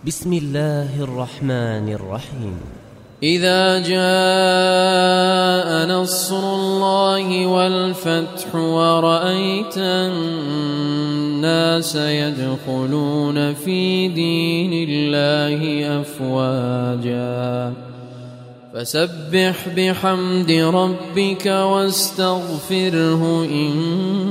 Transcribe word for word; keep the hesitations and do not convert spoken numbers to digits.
بسم الله الرحمن الرحيم. إذا جاء نصر الله والفتح ورأيت الناس يدخلون في دين الله أفواجا فسبح بحمد ربك واستغفره إن